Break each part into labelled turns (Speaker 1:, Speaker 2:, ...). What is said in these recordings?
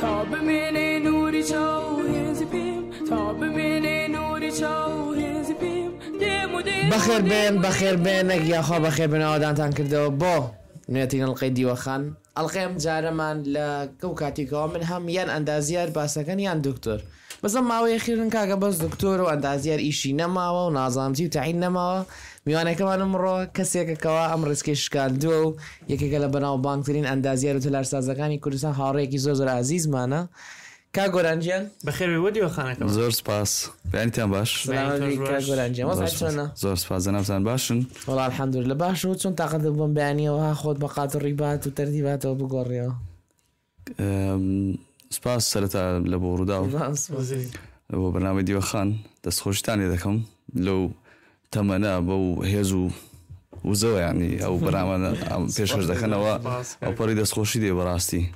Speaker 1: تا ببینی نوری چاو هزی پیم تا ببینی نوری چاو هزی پیم
Speaker 2: بخير بينك يا أخو بخير بين أودان تنكردو بو نيتين القيدي وخان القيم جارمان لكوكاتيكو من هم ين أندازيار باسكن ين دكتور بس ما هو أخيرا كاغا بس دكتور وأندازيار إيشي نماوا ونظامتي وتعين نماوا میوانه كمان مرة كسيك كوا أمرس كيش كان دو يكي كلا بناو بانكترين أندازيار وتلار سازكاني كردستان هاريكي زوزر عزيز مانا كاغورانجيان
Speaker 3: بخير بودي وخانك
Speaker 4: زور سپاس يعني تام باش
Speaker 2: سلام عليكم كاغورانجيان وصحتنا
Speaker 4: زور سپاس زنافزان باشن
Speaker 2: والله الحمد لله باش وتشون تقدم بياني وهاخد بقات الريبات وترتيبات وبقوريا
Speaker 4: سپاس سرتا لبوروداو لو برنامج ديو خان دسخوش تاني دكم لو تمنا بو هيزو وزو يعني او برنامج بيشش دكنا او بريد دسخوشي دي براستي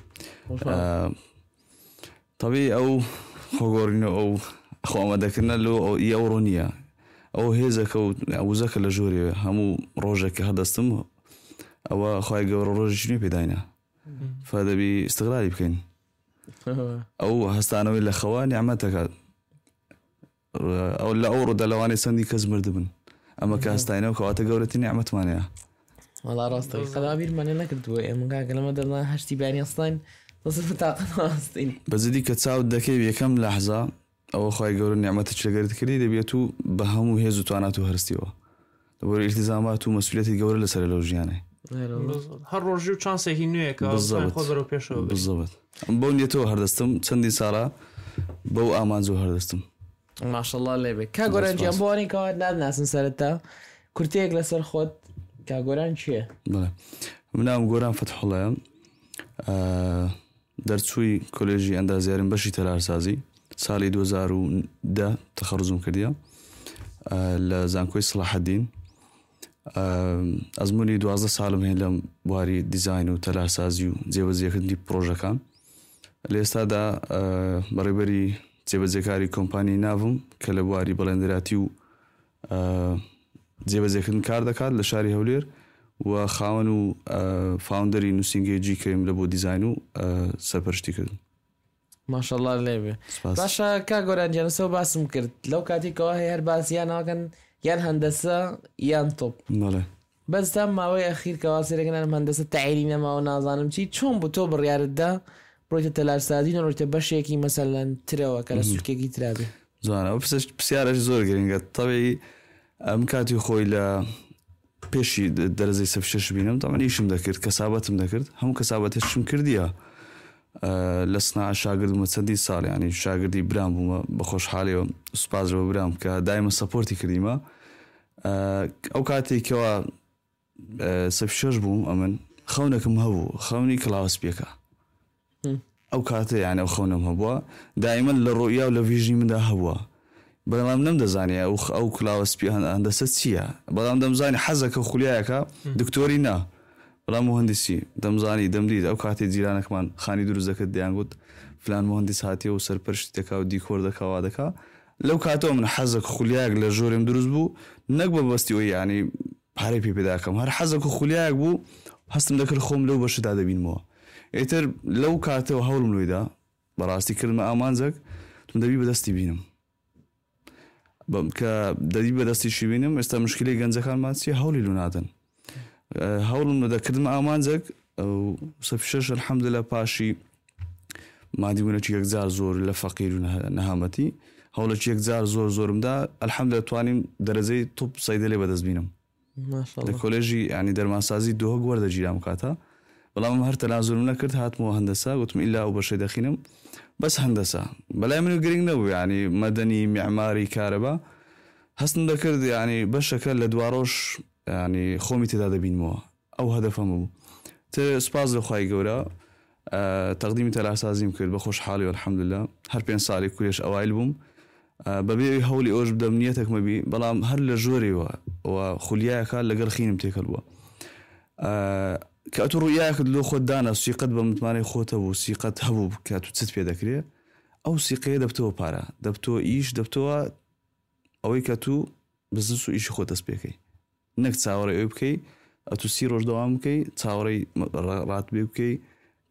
Speaker 4: طبيعي او خورينو او خو ما دكنا لو او يورونيا او هيزك او زك لجوري همو روجك هذا استم او خوي جور روج شنو بداينا فهذا بي استغلال يمكن او هستانو ولا خواني عمتك او لا اورد لواني سندي كزمردبن اما كاستاينو كواتا جورتي نعمت مانيا
Speaker 2: والله راستي خلابير ماني نكرت من قاعد لما درنا هشتي باني اصلا وصف طاقه اصلا
Speaker 4: بس دي كتساعد دكي بكم لحظه او خوي جور نعمتك لقرت كري دبيتو بهمو هيزو تواناتو هرستيوا دبر التزامات ومسؤوليات جور لسرلوجيانه
Speaker 3: هر روجو چانسه هینویه که خود رو پیشو
Speaker 4: بالضبط بونيتو هردستم چندی سالا بو امانزو هردستم
Speaker 2: ما شاء الله ليبك كاغوران جامبوني كود ناس نسرتا كرتيك لسر خود كاغوران شيء
Speaker 4: بله منام غوران فتح الله درسوي كوليجي اندازيارن بشي تلارسازي سالي 2010 تخرجم كرديا لزانكوي صلاح الدين ازموني 12 سالم هلم بواري ديزاين وتلارسازي وزيوزي كندي بروجا كان الاستاذ بريبري جێبەجێکاری کۆمپانی ناوم کە لە بواری بەڵێندراتی و جێبەجێکردن کار دەکات لە شاری هەولێر و خاوەن و فاوندەری نووسینگەیەکی کەیم لە بۆ دیزاین و سەرپەرشتیکردن
Speaker 2: ما شاء الله لێبێ باشە کاگۆرانجیان سەو باسم کرد لەو کاتێکەوە هەیە هەر باسییان ناکەن یان هەندەسە یان تۆپ بەس تا ماوەی ئەخیر کەوا سێرەکەن هەندەسە تەعیری نەماوە نازانم چی چۆن بوو تۆ بڕیارتدا برويت تلارسازين ورويت بشيكي مثلا تروا كلا سلكي ترابي
Speaker 4: زانا وبسيارة زور جرينجات طبيعي مكاتي خوي لا بيشي درزي سفشش بينهم طبعا ايش مذكرت كسابات مذكرت هم كسابات ايش مكرديها لسنا شاگرد متصدي صار يعني شاگردي برام بخوش حالي سبازر برام كدائما سبورتي كريمه او كاتي كوا سفشش بوم امن خونكم هو خوني كلاس بيكا او كاتي يعني او خونم هبوا دائما للرؤيه ولا فيجن من ده هوا بلام نم زاني او كلاس بي هندسه سيا بلام دم زاني حزك خلياك دكتورينا بلا مهندسي دم زاني دم دي او كاتي جيرانك كمان خاني دروزك ديان قلت فلان مهندس هاتي وسرپرشتك او ديكور دكا وادكا لو كاتو من حزك خلياك لجورم دروز بو نقبه بستي يعني بحري بي بداكم هر حزك خلياك بو هستم ذكر خوم لو بشد هذا بين مو ايتر لو كاتو هول ملويدا براستي كلمه امانزك تمدبي بدستي بينم ددي بدستي شي بينم است مشكله گنزكان ماتسي هولي لوناتن هول من كلمه امانزك او صفشش الحمد لله باشي ما دي ولا شي اكزار زور لفقير نهامتي هول شي اكزار زورم دا الحمد لله توانيم درجه توب صيدلي بدز بينم
Speaker 2: ما شاء الله
Speaker 4: الكوليجي يعني درماسازي دوه ورده جيرام كاتا والله ما هر تنازل نكرت هات مو هندسه قلت الا او بشي دخينم بس هندسه بلا من جرينج نو يعني مدني معماري كهرباء حسن ذكرت يعني بشكل لدواروش يعني خومي تداد بين مو او هدفهم سباز خوي جورا تقديمي تلاسازي يمكن بخوش حالي والحمد لله هر بين صالي كلش اوائل بوم ببي هولي اوج بدمنيتك مبي بلا هر لجوري وخلياك لقر خينم تيكلوا كاتو ياكد لو خدانا سيقد بمتماني خوته وسيقد هبو كاتو تست بيدكري او سيقيه دبتو بارا دبتو ايش دبتو او كاتو بزنسو ايش خوته سبيكي نك تصاوري اوبكي اتو سيروج دوامكي تصاوري رات بيبكي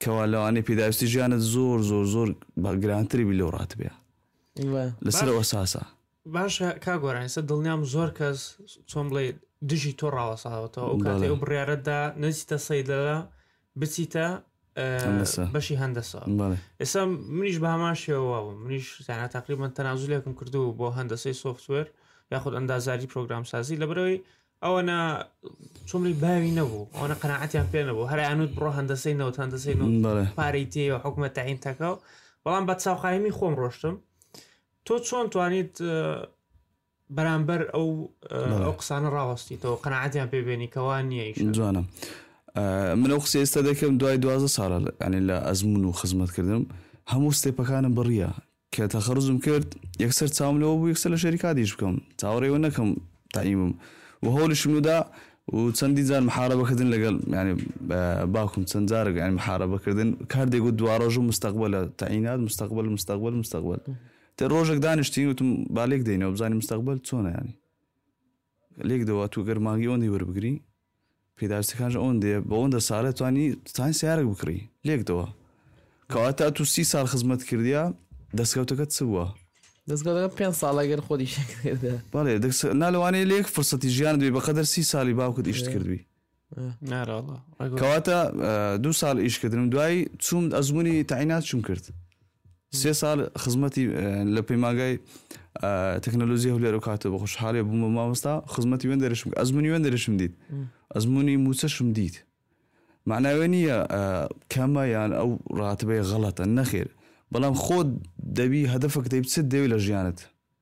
Speaker 4: کەوا لەوانەیە پێداویستی ژیانت زۆر زۆر زۆر گرانتری بی لەو ڕاتبێ لەسەر ئەساسە.
Speaker 3: باشە کاگۆران سە دڵنیام زۆر کەس چۆن بڵێ دژی تۆ ڕاوەساوەتەوە ئەو کاتێ ئەو بڕیارەتدا نەچیتە سەیدەدا بچیتە بەشی هەندەسا. ئێستا منیش بە هەمان شێوە منیش زانە تقریبان تەنازولێکم کردو بۆ هەندەسەی سۆفتوێر یاخود ئەندازاری پرۆگرام سازی لەبەرەوەی ئەوەنە چۆملی باوی نەبوو ئەوەنە قەناعەتیان پێ نەبوو هەرانوت بڕۆ هەندەسەی نەوت هەندەسەی پارەی تێوە حکومە تاعین تەکەو بەڵام بە چاوخایمی خۆم ڕۆشتم. تۆ چۆن توانیت بەرامبەر ئەو قسانە ڕاوەستیتەوە قەناعەتیان پێبێنی کەوان نییە
Speaker 4: جوانم. من ئەو قسە ئێستا دەکەم دوای 12 ساڵە ینی لە ئەزمون و خزمەتکردم هەموو ستێپەکانم بڕیە کە تەخەڕزم کرد یەکسەر چاوم لەوە بوو یەکسەر لە شەریکاتیش بکەم چاوەڕێوە نەکەم تاعیمم و هەوڵیشم ودا و چەندی جار محارەبەکردن لەگەڵ ینی باوکم چەند جارێک ینی محارەبەکردن کاردێک و دوڕۆژ و مستەقبەلە تاعینات مستەقبەل تە ڕۆژێک دانیشتین وتم با لێک دێنەوە بزانانی مستەقبەل چۆنە ینی لێک دەوە تو گەرمانگی ئەوەندی وەربگری پێداویستەکانش ئەوەندێ بە ئەوەندە ساڵێ توانی سیارێک بکڕی لێکدەوە کەواتە تو 30 ساڵ خزمەت کردیا دەستکەوتەکەت چ بووە؟
Speaker 2: دەستگەوتەکە 5 ساڵەگەر خۆی شێکدا
Speaker 4: بەڵێ نالوانەیە لێک فرسەتی ژیان دوێ بەقەدەر 30 ساڵی باوکت ئیشت کردوی کەواتە 2 ساڵ ئیشکردنم دوای چوم ئەزمموی تاعینات چوم کرد 3 ساڵ خزمەتی لە پەیماگای تەکنۆلۆژی هەولێر و کاتە بە خۆشحاڵێ بوومە مامۆستا خزمەتی وێن دەرەشم ئەزمموی وێن دەرەشم دیت ئەزمموی موچەشم دیت معناوێ نییە کەمە یان ئەو ڕاتبەی غەڵەتە نەخێر بەڵام خۆت دەبی هەدەفەک دەی بچت دەوێت لە ژیانت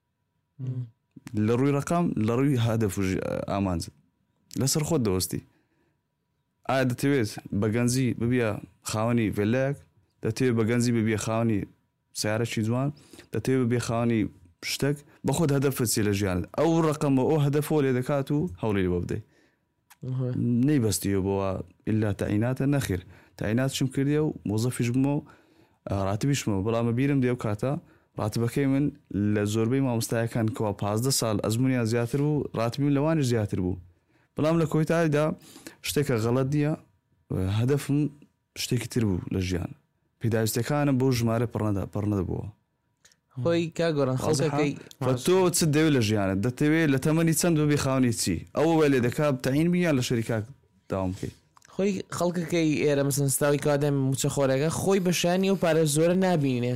Speaker 4: لە ڕووی ڕقام لە ڕووی هەدەف و ئامانجت لەسەر خۆت دەوەستی ئایا دەتەوێت بەگەنجی ببیە خاوەنی ڤێلایەک دەتەوێت بەگەنجی ببیە خاوەنی سیارەکی جوان دەتەوێت ببیە خاوەنی شتێک بە خۆت هەدەفت چێ لە ژیانت ئەو ڕقەمە ئەو هەدەفۆ لێ دەکات و هەوڵی بۆ بدەیت نەیبەستیەوە بۆەوە ئللا تاعیناتە نەخێر تاعینات چم کردیە و مۆزەفیش بمەوە ڕاتبیشمەوە بەڵامە بیرم دێ و کاتە ڕاتبەکەی من لە زۆربەی مامۆستایەکان کەوا 15 ساڵ ئەزممویان زیاتر بوو ڕاتبیم لەوانش زیاتر بوو بەڵام لە کۆیتایدا شتێکە غەڵەت نییە هەدەفم شتێکی تر بوو لە ژیان پێداویستەکانم بۆ ژمارە پڕنەدەبووە
Speaker 2: خۆی کاگۆڕان خەڵکەکەی
Speaker 4: تۆ چ دەوێت لە ژیانت دەتەوێت لە تەمەنی چەند ببی خاوەنی چی ئەوە لێ دەکات تاعین بیان لە شەریکات داوام بکەیت
Speaker 2: خۆی خەڵکەکەی ئێرە مەسەن ستاوی کادەم موچە خۆرەکە خۆی بەشانی و پارە زۆرە نبینێ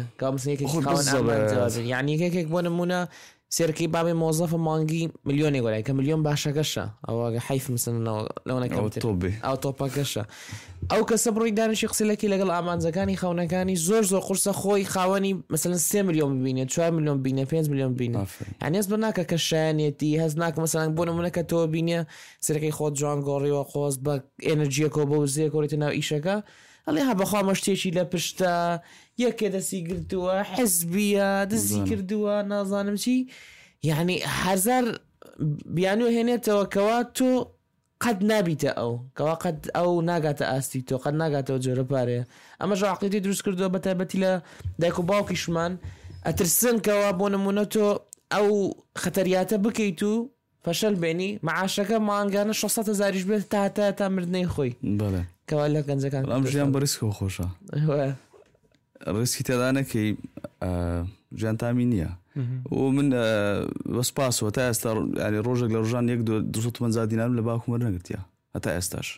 Speaker 2: یعنی یەکێک بۆ نمونە سێرەکەی بابێ مۆزەفە مانگی ملیۆنی گۆرای کە ملیۆن باشەکەشە ئەوە حیف ئەو تۆپەکەشە ئەو کەسە بڕۆی دانیشی قسەلەکی لەگەڵ ئامانجەکانی خاونەکانی زۆر قورسە خۆی خاوەنی مثلەن 3 ملیۆن ببینێت 4 ملیۆن بینە 5 ملیۆن بینە هەنێز بە ناکە کە شایەنێتی هەز ناکە مەسەلەن بۆ نمونەکە تۆ بینە سەرەکەی خۆت جوان گۆڕیەوە خۆز بە ئێنەرژیەکە بۆ وزەیە کۆڕێتە ناو ئیشەکە ئەڵێ ها بەخوا مەشتێکی لە پشتە یەکێ دەستی گرتووە حزبیە دەستی کردووە نازانم چی یعنی هەزار بیانوە هێنێتەوە کەوا تۆ قەت نابیتە ئەو کەوا قەت ئەو ناگاتە ئاستی تۆ قەت ناگاتەوە جۆرە پارەیە ئەمە ژاقیتی دروست کردووە بە تایبەتی لە دایک و باوکیشمان ئەترسن کەوا بۆ نمونە تۆ ئەو خەتەریاتە بکەیت و فەشەل بێنی معاشەکە مانگانە 600,000 بێت تا مردنەی خۆی کەوا لە گەنجەکان
Speaker 4: ئەم ژیان بە ریسکەوە خۆشە ڕیسکی تێدا نەکەی ژیان تامی نییە و من بەسپاسەوە تا ئێستا ینی ڕۆژێک لە ڕۆژان 250 دینار لە باوکم وەرنەگرتیا هەتا ئێستاش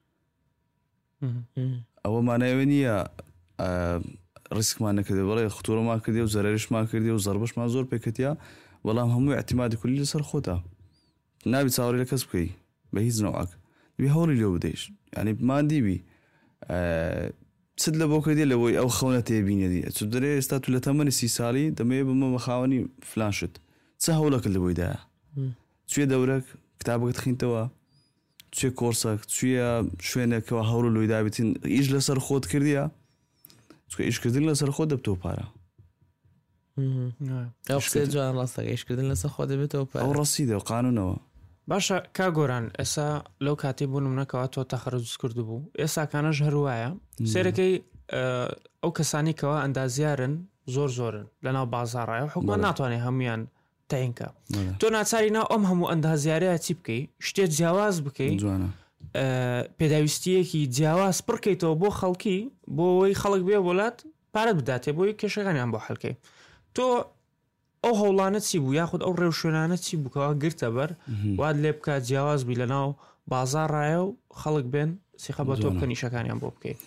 Speaker 4: ئەوە مانایوە نییە ڕیسکمان نەکردێ بەڵێ خوتوڕەمان کردێ و زەرریشمان کردێ و زەربەشمان زۆر پێکەتیا بەڵام هەمووی احتیمادی کولی لەسەر خۆتە نابی چاوەڕێ لە کەس بکەی بە هیچ نەوەک دوی هەوڵی لێ بدەیش ینی مادیبی چت لە بۆ کردێ لەوەی ئەو خەونە تێبینێدی چ دەرێ ئێستا تو لە تەمەنی 30 ساڵی دەمەیە بمە بەخاوەنی فلان شت چه هەوڵەکە لەبۆیدایە کوێ دەورەك کتابەکەت خینتەوە کوێ کۆرسەک کوێ شوێنێکەوە هەوڵ لۆی دابێتین ئیش لەسەر خۆت کردیە چکە ئیشکردن لەسەر خۆ دەبتەوە پارە
Speaker 2: جوان ڕاستەکە ئیشکردن لەسەر خۆ دەبێتەوە پارە
Speaker 4: ئەو ڕاستیدە و قانونەوە
Speaker 3: باشە کاگۆران ئێستا لەو کاتێ بوو نمونەکەەوە تۆ تەخەرج کرد بوو ئێستاکانەش هەروایە سێرەکەی ئەو کەسانی کەەوە ئەندازیارن زۆرن لەناو بازاڕایە و حکومە ناتوانێت هەمویان تاینکە تۆ ناچاری ناو ئەم هەموو ئەندازیارەیە چی بکەی شتێک جیاواز بکەی پێداویستیەکی جیاواز پڕکەیتەوە بۆ خەڵکی بۆ ئەوەی خەڵک بێ وڵات پارەت بداتێ بۆی کێشەکانیان بۆ حەلکەی تۆ ئەو هەوڵانە چی بوو یاخود ئەو ڕێوشێنانە چی بووکەوە گرتە بەر واد لێ بکات جیاواز بی لەناو بازار ڕایە و خەڵک بێن سیخە بە تۆ بکە نیشەکانیان بۆ بکەیت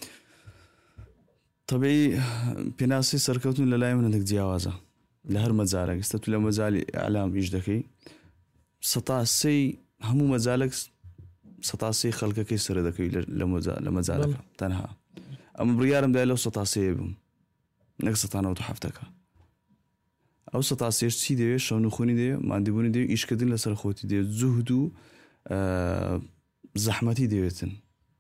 Speaker 4: طبعی پێناسی سەرکەوتن لە لای منە جیاوازە لە هەر مەجارێک ئێستا تو لە مەجای ئەعلام ئیش دەکەی سەتاسی هەموو مەجالێک سەتاسی خەڵکەکەی سرە دەکەی لە مەجارەکە تەنها ئەمە بڕیارم دای لەو سەتاسەیە بووم نەک 1970ەکە ئەو سەتاسێش چی دەوێت شەونخۆنی دەوێت مادیبوونی دەوێت ئیشکردن لەسەر خۆتی دەوێت جوهد و زەحمەتی دەوێتن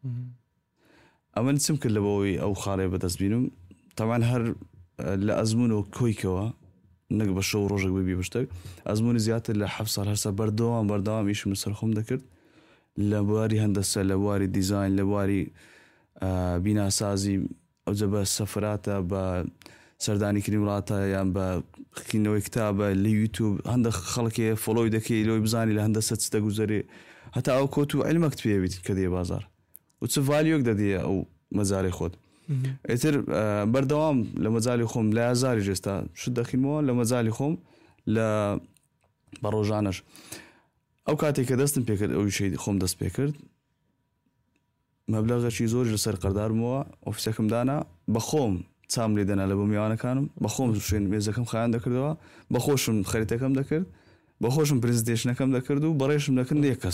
Speaker 4: ئەمە چم کرد لەبەوەی ئەو خاڵێ بەدەست بینم تەمان هەر لە ئەزمون و کۆیکەوە نەک بە شەو ڕۆژێک ببی بشتێک ئەزمونی زیاتر لە 7 ساڵ هەرسا بەردەوام ئیشم لەسەر خۆم دەکرد لە بواری هەندەسە لە بواری دیزاین لە بواری بیناسازی ئەوجە بە سەفراتە بە سەردانیکردنی وڵاتە یان بە خوێندنەوەی کتابە لە یوتیوب هەندێک خەڵکێ فۆلۆی دەکەی لەوەی بزانی لە هەندەسە چ دەگوزارێ هەتا ئەو کۆت و عیلمەکت پێویست کە دێ بازار و چ ڤالیۆک دەدێ ئەو مەجاری خۆت ئیتر بەردەوام لە مەجای خۆم لە ئازاری جێستا شت دەخینەوە لە مەجای خۆم لە بە ڕۆژانەش ئەو کاتێک کە دەستم پێکرد ئەوی شەی خۆم دەست پێکرد مەبلەغێکی زۆر لەسەر قەردارمەوە ئۆفیسەکەم دانا بەخۆم چام لێ دەنا لە بۆ میوانەکانم بەخۆم شوێن مێزەکەم خایان دەکردەوە بەخۆشم خەریتەکەم دەکرد بەخۆشم پرزنتێشنەکەم دەکرد و بەڕێشم دەکرد یەکەس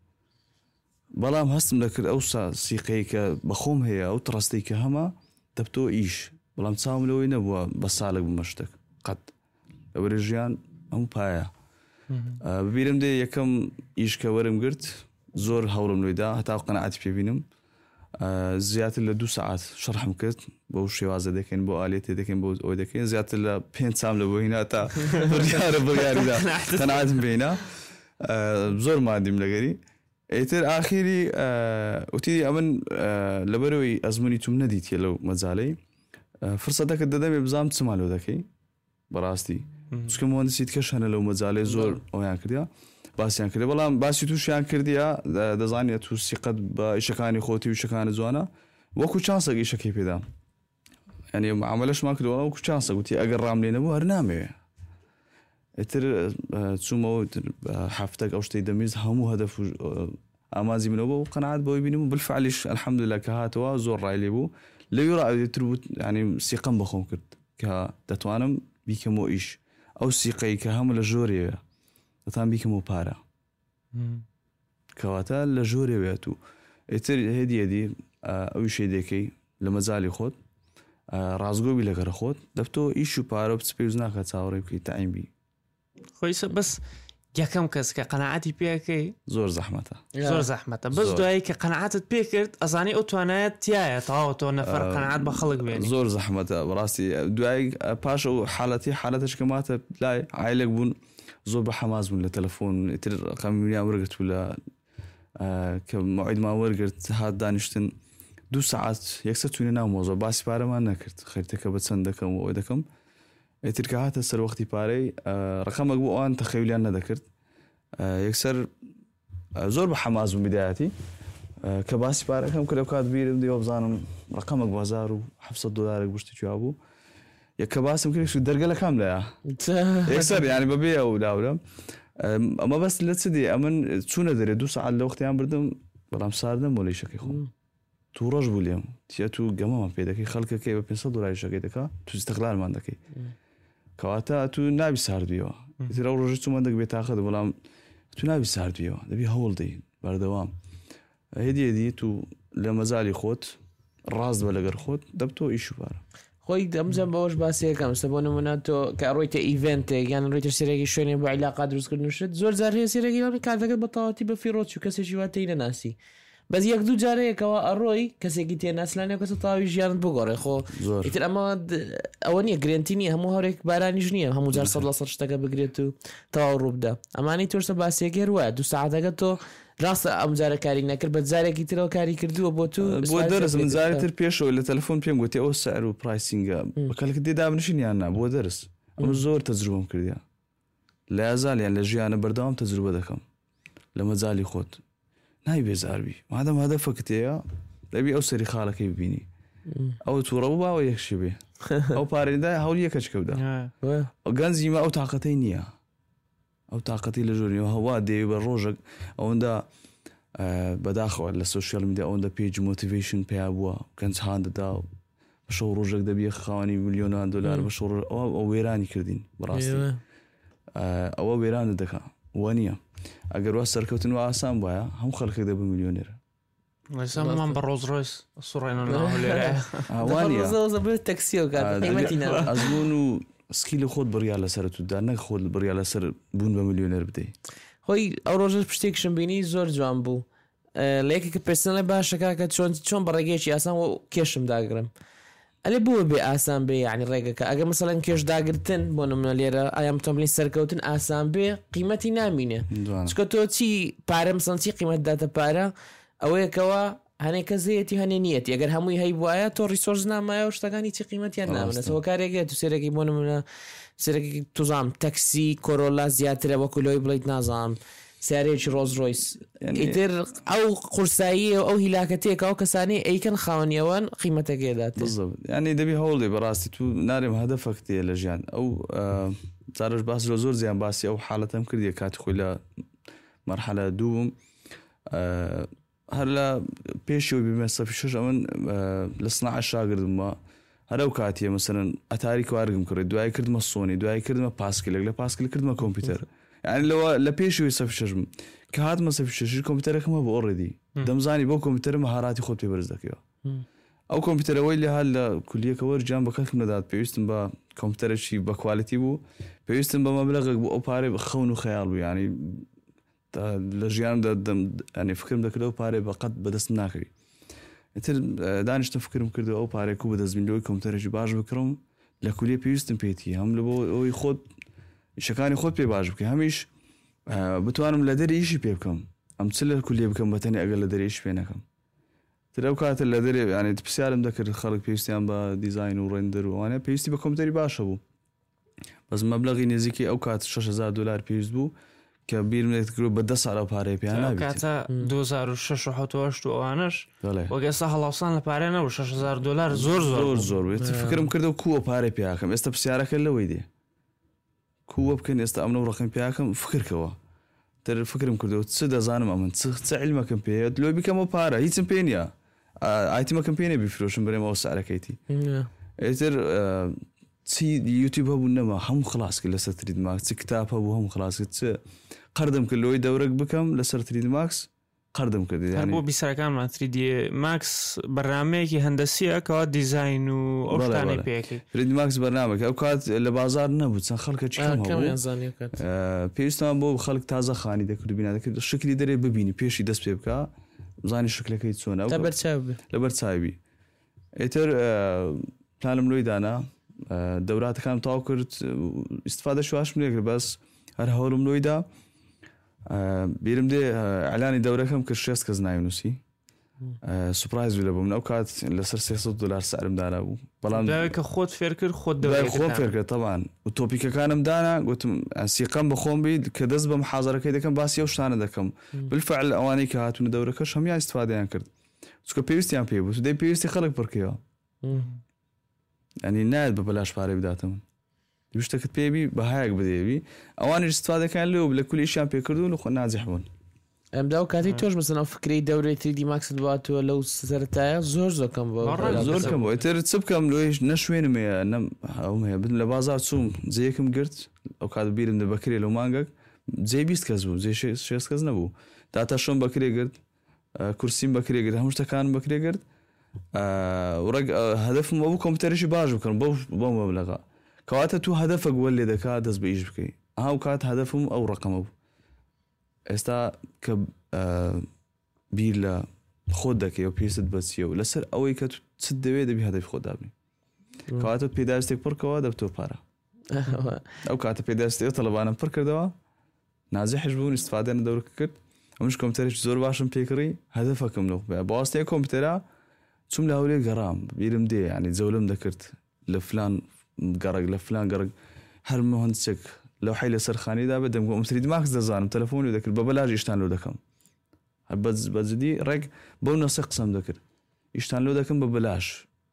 Speaker 4: بەڵام هەستم دەکرد ئەو سیقەی کە بەخۆم هەیە ئەو تڕستەی کە هەمە دەبتۆ ئیش بەڵام چاوم لەوەی نەبووە بە ساڵێک بمەشتێک قەت ئەوەرە ژیان ئەم پایە ببیرم دێ یەکەم ئیشکە وەرم گرت زۆر هەوڵم لێدا هەتا قەنەعەتی پێبینم زیاتر لە 2 ساعات شەرحم کرد بۆ شێوازە دەکەین بۆ ئالێتێ دەکەین بۆ ئەوی دەکەین زیاتر لە 5 سام لە بۆ هینا تا بڕیاریدا قەنەعەتم پێینا زۆر مادیم لەگەری ئیتر ئاخیری وتی ئەمن لەبەرەوەی ئەزمموی توم نەدیتە لەو مەجاالەی فرسەتەکە دەدەمێ بزانام چمالۆ دەکەی بەڕاستی چکە مهندسیت کەش هەنە لەو مەجاالەی زۆر ئەویان کردیا باسییان کرد بەڵام باسی تووشیان کردیا دەزانێت تو سیقەت بە ئیشەکانی خۆتی و شەکانی جوانە وەکو چانسەک ئیشەکەی پێدا ینی عملەشمان کردەوە وەکو چانسە گوتی ئەگەر ڕام لێ نەبوو هەر نامەوێ ئیتر چوومەوە هەفتێک ئەو شتەی دەمیز هەموو هەدەف ئامازی منەوە و قەنەعەت بۆی بینم و بالفعلیش الحەمدولله کە هاتەوە زۆر ڕای لێ بوو لەوی ڕایتر بوو ینی سیقەم بەخۆم کرد کە دەتوانم بیکەمەوە ئیش ئەو سیقەی کە هەموو لە ژۆرێوە دەتان بیکەمەوە پارە کەواتە لە ژۆرێوێت و ئیتر هێدیەدی ئەوی شەی دەکەی لە مەجای خۆت ڕازگۆبی لەگەرە خۆت دەبتۆ ئیش و پارە و پێویست ناکە چاوەڕێ بکەی تاعیمبی
Speaker 3: خۆیسە بەس یەکەم کەس کە قەنەعەتی پێەکەی
Speaker 4: زۆر زەحمەتە
Speaker 3: زۆر زەحمەتە بەس دوایی کە قەنەعەتت پێکرد ئەزانی ئەو توانایەت تایە تەواو تۆ نەفەر قەنەعەت بە خەڵک بێنی
Speaker 4: زۆر زەحمەتە بەڕاستی دوای پاشە و حالەتش کە ماتە لای عایلێک بوون زۆر بە حەماس بوون لە تەلەفۆن ئیتر ڕقەمیان وەرگرت و لە کە موعیدمان وەرگرت هات دانیشتن 2 ساعات یەکسەر چوونە ناو مۆزە باسی پارەمان نەکرد خەریتەکە بە چەند دەکەم و ئەوە دەکەم ئیتر کە هاتە سەر وەختی پارەی ڕقەمێک بۆ ئەوان تەخەیولیان نەدەکرد یەکسەر زۆر بە حەماس بووم بدایەتی کە باسی پارەکەم کە لەو کات بیرم دیوە بزانم ڕقەمێک $1700 گشتی بوو یەکە باسم کرد دەرگەلەکەم لایە یەکسەر ینی بەبێ ئەو داورم ئەمە بەس لە چ دێ ئەمن چوونە دەرێ 2 ساعات لە وەختیان بردم بەڵام ساردەم بۆ لەیشەکەی خۆم تو ڕۆژ بوو لێم تیا تو گەمەمان پێ دەکەی خەڵکەکەی بە $500 شەکەی دەکا تو استقلالمان دەکەی کەواتە تو نابی ساردویەوە ئیتر ئەو ڕۆژی چوومە دەک بێ تاقەت بەڵام تو نابی ساردویەوە دەبی هەوڵ دەی بەردەوام هێدیەدی تو لە مەجای خۆت ڕاست بە لەگەر خۆت دەبتۆ ئیش و پارە
Speaker 2: خۆی دەمزم بەەوەش باسیەکەم سە بۆ نمونە تۆ کە ڕۆیتە ئیڤنتێک یان ڕۆیتە سێرەی شوێنێ بۆ عیلاقا دروستکردن شت زۆر جار هەیە سێرەی کاتەکەت بە تەواوەتی بە فیرۆچ و کەسێکی واتەی نەناسی بەس 1-2 جارەیەکەوە ئەڕۆی کەسێکی تێناسلانێ کەسە تاوی ژیانت بگۆڕێ خۆ ئیتر ئەوە نییە گرنتی نیە هەموو هەورێک بارانیش نییە هەموو جار 100% شتەکە بگرێت و تەواو ڕووبدا ئەمانی تۆشتە باسیەکە وایە 2 ساعتەکە تۆ ڕاستە ئەم جارە کاری نەکرد بە جارێکی ترەوە کاری کردووە بۆ تو
Speaker 4: بۆ دەرس من جارێتر پێشەوە لە تەلەفۆن پێم گوتی ئەو سعر و پرایسینگە بەکەلکە دێدا بنشینیان نا بۆ دەرس ئەمە زۆر تەجروبەم کردیا لە ئازالیان لە ژیانە بەردەوام تەجروبە دەکەم لە مەجای خۆت نای بێزاربی مادەم هەدەفەکە تەیە دەبی ئەو سەری خاڵەکەی ببینی ئەو تووڕە و باوە یەکشی بێ ئەو پارێدا هەوڵ یەکەچ کەودا گەنجیمە ئەو تااقەتەی نییە ئەو تااقەتی لە ژۆنیەوە هەوا دێوی بە ڕۆژێک ئەوەندا بەداخەوە لە سوشیال میدیا ئەوەندە پێیج مۆتیڤیشن پێیا بووە گەنج هاندەدا بە شەو ڕۆژێک دەبیە خاوەنی $1,000,000 بە شەو ئەو وێرانی کردین بەڕاستی ئەوە وێرانە دەکا وە نییە ئەگەر وا سەرکەوتن و ئاسان وایە هەم خەڵکێک دەبە میلیۆنێرە
Speaker 3: من بە ڕۆزڕۆیس سوڕێنە
Speaker 4: ئەزبوون و سکی لە خۆت بڕیا لەسەر تودا نەک خۆت بڕیا لەسەر بوون بە میلیۆنێر بدەیت
Speaker 2: خۆی ئەو ڕۆژە پشتێکشم بینی زۆر جوان بوو لە یەکێکە پرسنە باشەکە کە چۆن بە ڕێگەیەکی ئاسان و کێشم داگرم ئەلێ بووە بێ ئاسان بێ یعنی ڕێگەکە ئەگەر مثلەن کێش داگرتن بۆ نمونە لێرە ئایا تۆمبلی سەرکەوتن ئاسان بێ قیمەتی نامینێ چکە تۆ چی پارە مثلەن چی قیمەت داتە پارە ئەوەیەکەوە هەنێک کە زەیەتی هەنێ نیەتی ئەگەر هەمووی هەی وایە تۆ ریسۆرس نامایە و شتەکانی چی قیمەتیان نامنێتەوە کارێکێت تو سێرەکی بۆ نمونە سێرەکی توزام تەکسی کۆرۆلا زیاترە وەکو لۆی بڵیت نازام سیارێکی ڕۆز ڕۆیس ئیتر ئەو قورسایی ئەو هیلاکەتێک ئەو کەسانی ئەیکەن خاوەنیەوەن قیمەتەکێدات
Speaker 4: ینی دەبی هەوڵێ بەڕاستی تو نارێم هەدەفەک تێ لە ژیان ئەو جارش باس لە زۆر زیان باسی ئەو حاڵەتەم کردیە کاتی خۆی لە مەرحەلە دووم هەر لە پێشەوە بیمە سەفیشش ئەمن لە سناع شاگردمە هەرەو کاتیە مەسەرەن ئەتاری کوارگم کرد دوای کردمە سۆنی دوای کردمە پاسکلێک لە پاسکل کردمە کۆمپیوتەر یعنی لەوە لە پێشەوەی سەفیشم کە هاتمە سەفیشش کۆمپیوتەرەکەمە بۆ ئۆڕێدی دەمزانی بۆ کۆمپیوتەر مەهاراتی خۆت پێ بەرز دەکەوە ئەو کۆمپیوتەرەوەی لە هەر لە کولیەکەوە جیان بە کەسم نەدات پێویستم بە کۆمپیوتەرێکی بە کوالیتی بوو پێویستم بە مەبلەغێک بوو ئەو پارێ خەون و خەیاڵ بوو ینی لە ژیان ئەنی فکرم دەکردەوە پارێ بەقەت بەدەست ناکەوی ئیتر دانیشتە فکرم کردەوە ئەو پارێک و بەدەستبینەوەی کۆمپیوتەرێکی باش بکڕم لە کولیە پێویستم پێێتی هەم لە بۆ ئەوی خۆت شەکانی خۆت پێ باش بکە هەمیش بتوانم لە دەری ئیشی پێ بکەم ئەم چ لە کولیە بکەم بەتەنی ئەگەر لە دەریش پێ نەکەم تر ئەو کاتە لە دەرێ ینی پرسیارم دەکرد خەڵک پێویستیان بە دیزاین و ڕێندەر وانە پێویستی بە کۆمپیوتەری باشە بوو بەس مەبلەغی نزیکی ئەو کات $6,000 پێویست بوو کە بیرم لێتکرد بە 10 ساڵە پارەی پێیان نابێت
Speaker 3: 2006 ئەوانش وەگەستا هەڵاوسان لە پارێ نەبوو $6,000 زۆر
Speaker 4: زۆر بێت فکرم کردەوە کووە پارەی پیاکەم ئێستا پرسیارەکە لەوەی دێ کووە بکەن ئێستا ئەمنە و ڕقم پیاکەم فکرکەوە تر فکرم کردەوە چ دەزانم ئەمن چ عیلمەکەم پێێت لۆی بکەمەوە پارە هیچم پێ نیە ئایتیمەکەم پێێ بیفرۆشم بەرێمەوە سارەکەیتی ئێتر چی یوتیوب هەبوو نەما هەموو خلاص کرد لەسەر ترید ماکس چ کتاب هەبوو هەموو خلاص کرد چ قەردەم کرد لەوەی دەورەك بکەم لەسەر ترید ماکس قەردەم کرد
Speaker 3: بۆ بیسەرەکانمان 3D ماکس بەرنامەیەکی هەندەسیە کەوا دیزاین و ئەوشتانەی پێکەی
Speaker 4: ترید ماکس بەرنامێک ئەو کات لە بازار نەبوو چەند خەڵکە پێویستمان بۆ خەڵک تازە خانی دەکرد بینە دەکرد شکلی دەرێ ببینی پێشی دەست پێ بکە زانی شکلەکەی چۆنە لەبەر چاوی ئێتر پلانم لۆی دانا دەوراتەکان تاو کرد ئیسفادە شواشم لێ کرد بەس هەر هەوڵم لۆیدا بیرم دێ ئەلانی دەورەکەم کرد 6 کەس ناوینوسی سوپرایز لە بووم ئەو کات لەسەر $300 سعرم دانا بوو بەڵام
Speaker 3: کە خۆت فێر کرد خۆت
Speaker 4: خۆم فێر کرد تەوان و تۆپیکەکانم دانا گوتم سیقەم بە خۆم بیت کە دەست بەم حازەرەکەی دەکەم باسی ئەو شتانە دەکەم بالفعل ئەوانەی کە هاتوونە دەورەکەش هەمیان ئیسفادەیان کرد چکە پێویستیان پێ بوو دەی پێویستی خەڵک پڕکەوە ئەنی نایەت بە بەلاش پارەی بداتم شتەکەت پێبی بەهایەک بدێوی ئەوانی استفادەکان لێو لە کولیشیان پێکردون و خۆ نازیح بوون
Speaker 2: ئەمدا و کاتی تۆش مەسەن ئەو فکری دەورەی 3D ماکس دواتوە لەو سەرەتایە زۆر زۆکەم
Speaker 4: زۆر کەم بۆ ئێتر چ بکەم لۆیش نەشوێنم هەیە هەیە بن لە بازار چوم جەیەکم گرت ئەو کات بیرم دە بەکرێ لەو مانگەک جێ 20 کەس بوو جێ 6 کەس نەبوو داتا شۆم بەکرێ گرت کورسیم بەکرێ گرت هەموو شتەکانم بەکرێ گرت هەدەفم بۆ کۆمپیوتەرێکی باش بکەم بۆ مەبلەغا کەواتە تو هەدەفەک وەل لێ دەکات دەست بە ئیش بکەی ئەو کات هەدەفم ئەو ڕقەمە بوو ئێستا کە بیر لە خۆت دەکەی و پێست بەچیە و لەسەر ئەوەی کە چ دەوێت دەبی هەدەفی خۆت دابنی کەواتە پێداویستێک پڕکەوە دەبتۆ پارە ئەو کاتە پێداویستێک تەڵەبانم پڕ کردەوە نازیحش بوون استفادە دەورەکە کرد ئەمش کۆمپیوتەرێکی زۆر باشم پێکڕی هەدەفەکەم لەو بەواستەیە کۆمپیوتەرە چوم لە هەولێر گەڕام بیرم دێ ینی جەولەم دەکرد لە فلان گەڕک لە فلان گەڕک هەر مهندسێک لەو حی لە سەرخانیدا بە دەمگۆ 3D ماکس دەزانم تەلەفۆنی دەکرد بە بەلاژ ئیشتان لۆ دەکەم بەزدی ڕێک بەو نەسە قسەم دەکرد ئیشتان لۆ دەکەم بە بەلاش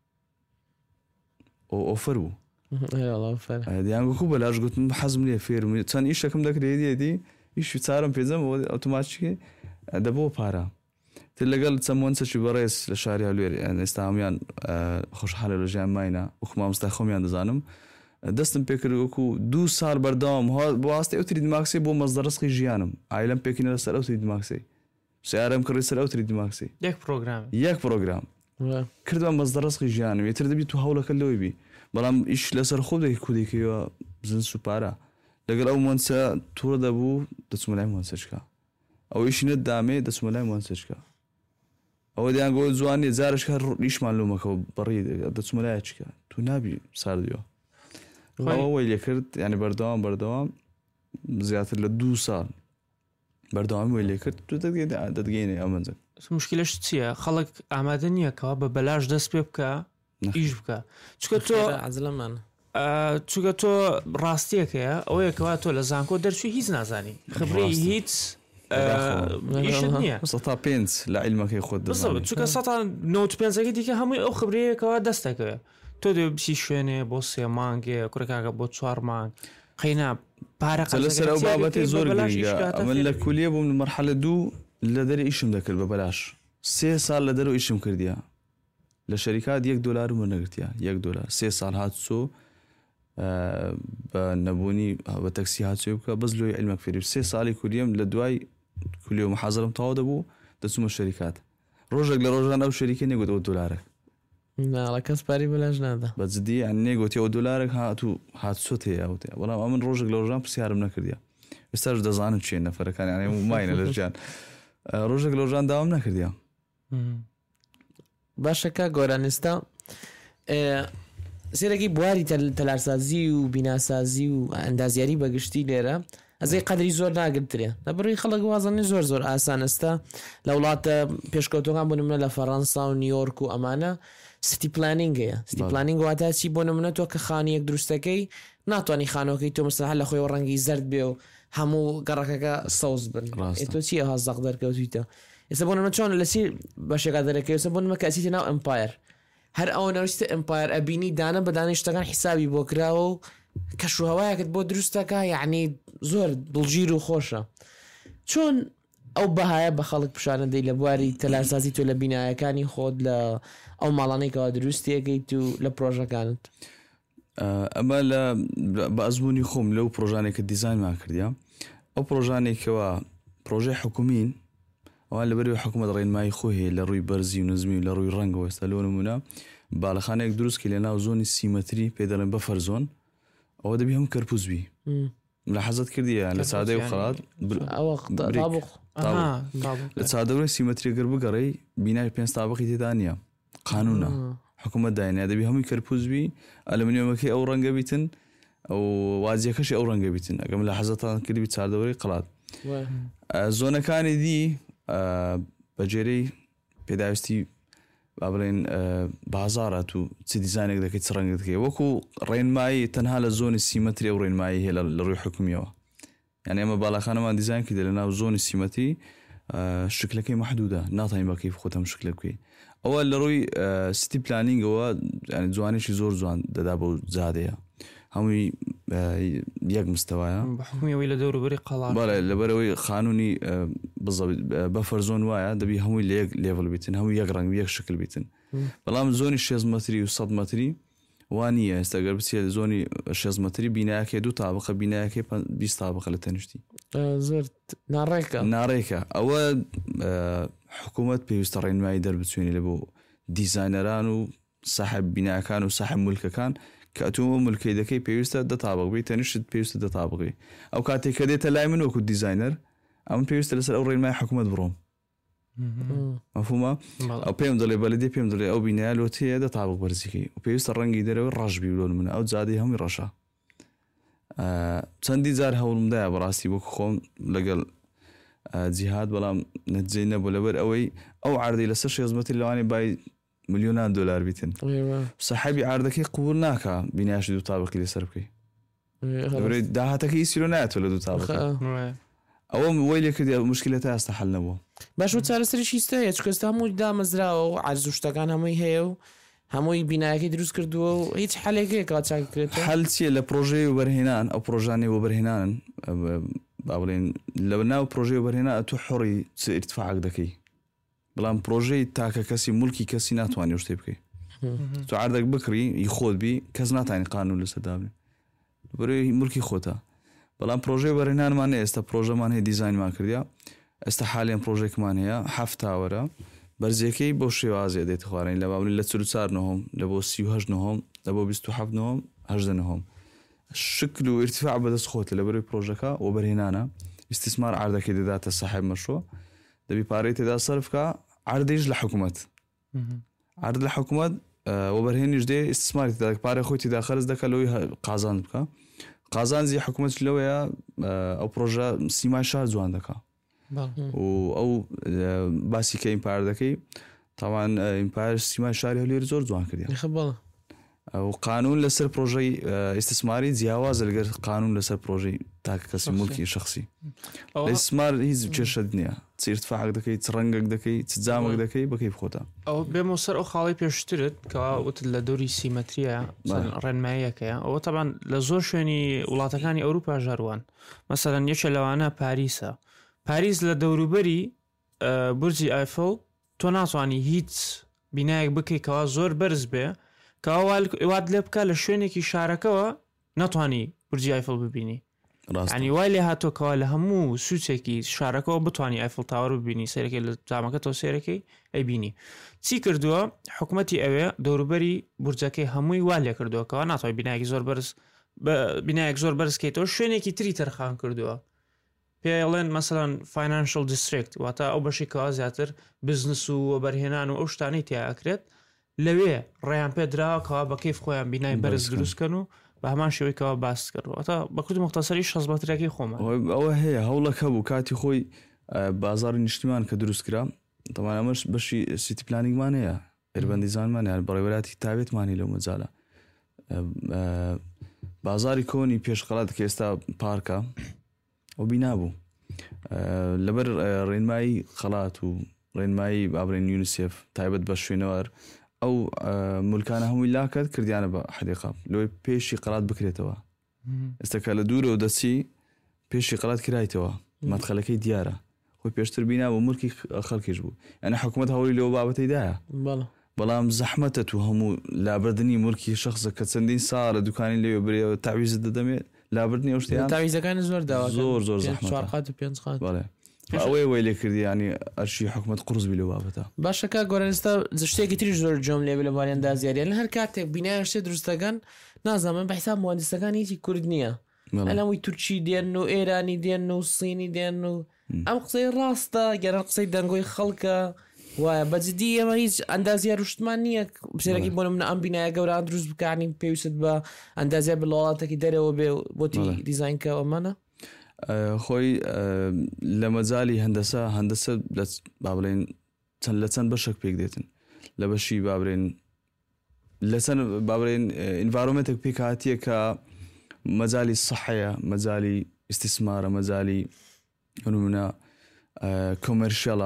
Speaker 4: ئۆفەر بوو دیانگوکو بەلاش گوتم حەزم لێ فێرم چەند ئیشەکەم دەکرێتی ئیشی چارم پێزم ئۆتۆماتیکی دەبەوە پارە تر لەگەڵ چەمۆنچەکی بەڕێز لە شاری هەولێر ئێستا هەمویان خۆشحالە لە ژیان ماینە وەکو مامۆستا خۆمیان دەزانم دەستم پێکرد وەکو 2 ساڵ بەردەوام بەواستی ئەو تریدماکسی بۆ مەزدەڕسقی ژیانم ئایلم پێکینە لەسەر ئەو تریدماکسی سیارەم کڕی سەر ئەو تریدماکسی یەک پرۆگرام کردوە مەزدەڕسقی ژیانم یەتر دەبی تو هەوڵەکە لەوەی بی بەڵام ئیش لەسەر خۆ دەکی کودێکیوە زنس و پارە لەگەڵ ئەو مۆنچە تووڕە دەبوو دەچمە لای مۆنچەچکە ئەو ئیشینە دامێ دەچمە لای مۆنچەچکە ئەوە دیانگۆ جوانی جارش کار ڕیشمان لۆمەکەەوە بەڕی دەچمە لای چکە تو نابی ساردیوە ئەوەی لێ کرد ینی بەردەوام زیاتر لە 2 ساڵ بەردەوامی وی لێ کرد تو دەدگەینێ ئەمەنجە
Speaker 3: مشکلش چییە خەڵک ئامادە نییەکەوە بە بەلاش دەست پێ بکە ئیش بکە چکە تۆ
Speaker 2: عزلەمان
Speaker 3: چگە تۆ ڕاستیەکەیە ئەوەیەکەوە تۆ لە زانکۆ دەرچوی هیچ نازانی خبری هیچ نییە
Speaker 4: 5 لە عیلمەکەی خۆت
Speaker 3: چکە 95 دیکە هەمووی ئەو خبرەیەکەوە دەستەکەوێت تۆ دێ بچی شوێنێ بۆ 3 مانگێ کوڕکاکە بۆ 4 مانگ خەینا پارە
Speaker 4: لەسەر ئەو بابەتی زۆر من لە کولیە بووم مەرحەلە 2 لە دەری ئیشم دەکرد بە بەلاش 3 ساڵ لە دەرەوە ئیشم کردیە لە شەریکات $1 وەرنەگرتیە $1 3 ساڵ هاتچۆ بە نەبوونی بە تەکسی هاتچۆ بکە بەس لۆی عیلمەک فێری 3 ساڵی کولیم لە دوای کولی و محازرم تەواو دەبوو دەچوومە شەریکات ڕۆژێک لە ڕۆژان ئەو شەریکە نێگوت $1
Speaker 2: ناڵە کەس پاری بەلاش نادا
Speaker 4: بەجددی نێگوتی $1 هاتچۆ هەیە بەڵام ئەمن ڕۆژێک لە ڕۆژان پرسیارم نەکردیە ئێستاش دەزانم چێ نەفەرەکانی ماینە لە ژیان ڕۆژێک لە ڕۆژان داوام نەکردیە
Speaker 2: باشەکە گۆرانستا سێرەکی بواری تەلارسازی و بیناسازی و ئەندازیاری بەگشتی لێرە ئەزەی قەدری زۆر ناگرترێ لەبڕی خەڵک وازانێ زۆر ئاسانستا لە وڵاتە پێشکەوتۆکان بۆ نمونە لە فەڕەنسا و نیویۆرک و ئەمانە ستی پلانینگەیە ستی پلانینگ واتە چی بۆ نمونە تۆ کە خانیەک دروستەکەی ناتوانانی خانۆکەی تۆ مستەحەل لە خۆی ڕەنگی زرد بێ و هەموو گەڕەکەکە سەوز بن تۆ چی ئەها زەق دەرکەوتیتە ئێستا بۆ نمە چۆن لەسی بەشێکا دەرەکەی ئێستا بۆ نمە کەسیتە ناو ئەمپایر هەر ئەوە نەویستە ئەمپایر ئەبینی دانە بەدانەی شتەکان حیسابی بۆ کراوە و کەشوهەوایەکت بۆ دروستەکە یعنی زۆر دڵگیر و خۆشە چۆن ئەو بەهایە بە خەڵک پیشانەدەی لە بواری تەلارسازی تۆ لە بینایەکانی خۆت لە ئەو ماڵانەیەکەوە دروستیەکەیت و لە پرۆژەکانت
Speaker 4: ئەمە لە بە ئەزمموی خۆم لەو پرۆژانێکە دیزاینمان کردیا ئەو پرۆژانێکەوە پرۆژەی حکومین ئەوان لەبەری حکوومەت ڕێنمایی خۆ هەیە لە ڕووی بەرزی و نزمی و لە ڕووی ڕەنگەوە ئێستا لۆ نمونە باڵەخانەیەک دروستکە لە ناو زۆنی سیمەتری پێ دەڵێن بەفەر زۆن ئەوە دەبی هەم کەرپوزبی لە حەزت کردیە لە سادەی و خەڵات لە چادەورە سیمەتریگەر بگەڕی بینای 5 تابقی تێدا نیە قانونە حکوومەت داینە دەبی هەمووی کەرپوزبی ئەلمنیۆمەکەی ئەو ڕەنگە بیتن ئەو وازیەکەشی ئەو ڕەنگە بیتن ئەگەم لە حەزتان کردی چادەوەری قڵات زۆنەکانی دی بەجێرەی پێداویستی با بڵێن بازارات و چ دیزانێک دەکەیت چ ڕەنگە دەکەی وەکو ڕێنمایی تەنها لە زۆنی سیمەتری ئەو ڕێنمایی هەیە لە ڕووی حکومیەوە یعنی ئەمە باڵەخانەمان دیزاین کردە لە ناو زۆنی سیمەتری شکلەکەی مەحدودە ناتوانین بە کەیف خۆت هەم شکل بکەی ئەوە لە ڕووی ستی پلانینگەوە جوانێکی زۆر جوان دەدا بۆ جادەیە هەمووی یەک مستەوایە
Speaker 3: حکومیەوەی لە دەوروبەری قەڵات
Speaker 4: لەبەرەوەی قانونی بەفەر زۆن وایە دەبی هەمووی لە یەک لێڤڵ بیتن هەمووی یەک ڕەنگ یەک شکل بیتن بەڵام زۆنی 6 مەتری و 100 مەتری وانیە ئێستا گەر بچێت زۆنی 6 مەتری بینایەکەی 2 تابقە بینایەکەی 20 تابقە لە تەنیشتی
Speaker 2: زۆر
Speaker 4: ناڕێکە ئەوە حکوومەت پێویستە ڕێنمایی دەربچێنی لە بۆ دیزاینەران و ساحب بینایەکان و ساحب مولکەکان کە ئەتۆ مولکەی دەکەی پێویستە 10 تابق بی تەنیشت پێویستە 10 تابقی ئەو کاتێک کە دێتە لای من وەکو دیزاینەر ئەمن پێویستە لەسەر ئەو ڕێنمای حکوومەت بڕۆم مەفهومە ئەو پێم دەڵێ بەلەدێ پێم دەڵێ ئەو بینایە لۆتەیە 10 تابق بەرزیکەی و پێویستە ڕەنگی دەرەوە ڕەشبی بلۆن منە ئەو جادەی هەمووی ڕەشە چەندی جار هەوڵمدایە بەڕاستی وەکو خۆم لەگەڵ جیهاد بەڵام نەتیجەی نەبوو لەبەر ئەوەی ئەو عەردەی لەسەر 6 مەتری لەوانێ بای ملیۆنان دلار بیتن سەحابی عەردەکەی قبول ناکە بینایش 2 تابقی لەسەر بکەی داهاتەکەی ئیسیرۆ نایەتەوە لە 2 تابق ئەوە وەی لێکردی مشکلەتە ئێستا حەل نەبووە.
Speaker 2: باش چارەسەریشی ستەیە چکەستا هەمووی دامەزراوە و عەرز و شتەکان هەمووی هەیە و هەمووی بینایەکەی دروست کردووە و هیچ حەلێکەیە کات چاکرێت
Speaker 4: حەل چیە لە پرۆژەی وبەرهێنان ئەو پرۆژانەی وبەرهێنانن با بڵێن لە ناو پرۆژەی وبەرهێنا تو حۆڕی ئیرتفاعک دەکەی بەڵام پرۆژەی تاکە کەسی مولکی کەسی ناتوانێت شتێ بکەی تو عەردێک بکڕی خۆت بی کەس ناتوانێت قانون لەسەر دابنێ بەرەوەی مولکی خۆتە. بەڵام پرۆژەی وبەرهێنانمان ئێستا پرۆژەمان هەیە دیزاینمان کردیا ئێستا حالیان پرۆژێکمان هەیە 7 تاوەرە بەرزەکەی بۆ شێوازیە دێت خوارین لە باوری لە 44 نهم لە بۆ 38 نهم لە بۆ 27 نهم 18 نهم شکل و ارتفاع بەدەست خۆتە لە بەروی پرۆژەکە وبەرهێنانە استثمار عەردەکەی دەداتە صاحب مەشروع دەبی پارەی تێدا سەرفکە عەردیش لە حکوومەت عەرد لە حکوومەت وبەرهێنیش دێ استثماری تێدا پارەی خۆی تێدا خەرج دەکە لەوەی قازان بکە قازانزی حکوومەت لەوەیە ئەو پرۆژە سیمای شار جوان دەکە و ئەو باسی کە ئیمپار دەکەی تاوان ئیمپار سیمای شاری هەولێر زۆر جوان کردی و قانون لەسەر پرۆژەی ئیستثماری جیاوازە لەگەر قانون لەسەر پرۆژەی تاکە کەسی مولکی شخصی ئیستثمار هیچ کێشەت نییە چ ارتفاعک دەکەی چ ڕەنگێک دەکەی چ جامێک دەکەی بە کەیف خۆتە.
Speaker 3: ئەو بێمە سەر ئەو خاڵی پێشترت کەوا وتت لە دەوری سیمەتریە ڕێنماییەکەیە ئەوە تەبان لە زۆر شوێنی وڵاتەکانی ئەوروپا ژاروان مەسەلەن یەکێ لەوانە پاریسە پاریس لە دەوروبەری بورجی ئایفڵ تۆ ناتوانانی هیچ بینایەک بکەی کەوا زۆر بەرز بێ کەوات لێ بکە لە شوێنێکی شارەکەەوە ناتوانانی بورجی ئایفڵ ببینی ینی وای لێ هاتۆکەوە لە هەموو سوچێکی شارەکەەوە بتوانانی ئایفڵ تاوەڕ ببینی سەرەکەی لە جامەکە تۆ سێرەکەی ئەیبینی چی کردووە حکوومەتی ئەوێ دەوروبەری بورجەکەی هەمووی وا لێ کردووەکەەوە ناتوانای بینایەکی زۆر بەرز بینایەک زۆر بەرزکەیتەوە شوێنێکی تری تەرخان کردووە پێڵێن مەسەڵەن فاینانشل دیستریکت واتە ئەو بەشی کەوا زیاتر بزنس و بەرهێنان و ئەو شتانەی تیاکرێت لەوێ ڕێیان پێدراوەکەوا بە کەیف خۆیان بینای بەرز دروستکەن و بە هەمان شێوەیەکەوە باس کردوەوە بە کورد مختصری شەزبەترەکەی خۆمان
Speaker 4: ئەوە هەیە هەوڵەکە بوو کاتی خۆی بازاری نیشتیمان کە دروست کرا تەمان ئەمەش بەشی سیتی پلانینگمان هەیە ئێربەندیزانمان یان بەڕێوەلاتی تابێتمانی لەو مەجالە بازاری کۆنی پێشقەڵات کە ئێستا پارکە ئەو بینابوو لەبەر ڕێنمایی خەڵات و ڕێنمایی بابرین یونیسف تایبەت بە شوێنەوەر ئەو مولکانە هەمووی لاکات کردیانە بە حدیقە لەوەی پێشی قەڵات بکرێتەوە ئێستاکە لە دوورەوە دەچی پێشی قەڵات کرایتەوە مەدخەلەکەی دیارە خۆی پێشتر بینا بۆ مولکی خەڵکیش بوو یعنی حکوومەت هەوڵی لەوە بابەتەیدایە بەڵام زەحمەتە تو هەموو لابردنی مولکی شخصە کە چەندین ساڵە دوکانی لێوێ برێەوە تاویزت دەدەمێت لابردنی ئەو شتیان
Speaker 2: تاویزەکانی زۆر داوا
Speaker 4: زۆر زەحمەتە ئەوەی وی لێ کردی ینی ئەرشی حکوومەت قرس بی لە بابەتە
Speaker 2: باشەکە گۆرانستا شتێکی تری زۆر جۆم لێ لە باریاندا زیاریان لە هەر کاتێک بینایان شتێ دروستەکان نازانم بە حساب مهندسەکان هیچی کورد نییە ئەلەمووی تورکی دێن و ئێرانی دێن و سینی دێن و ئەم قسەی ڕاستە گەران قسەی دەنگۆی خەڵکە وایە بەجددی ئەمە هیچ ئەندازیار ڕشتمان نییە بسێرەکی بۆ منە ئەم بینایە گەوران دروست بکانی پێویست بە ئەندازیار بڵاڵاتێکی دەرەوە بێ بۆتی دیزاینکەوەمانە
Speaker 4: خۆی لە مەجای هەندەسە با بڵێن چەند لە چەند بەشێک پێک دێتن لە بەشی بابرێن لە چەند بابرێن ئینڤارۆمنتێک پێکهاتیە کە مەجای سەحەیە مەجای ئیستیسمارە مەجای نمونە کۆمەرشیەڵە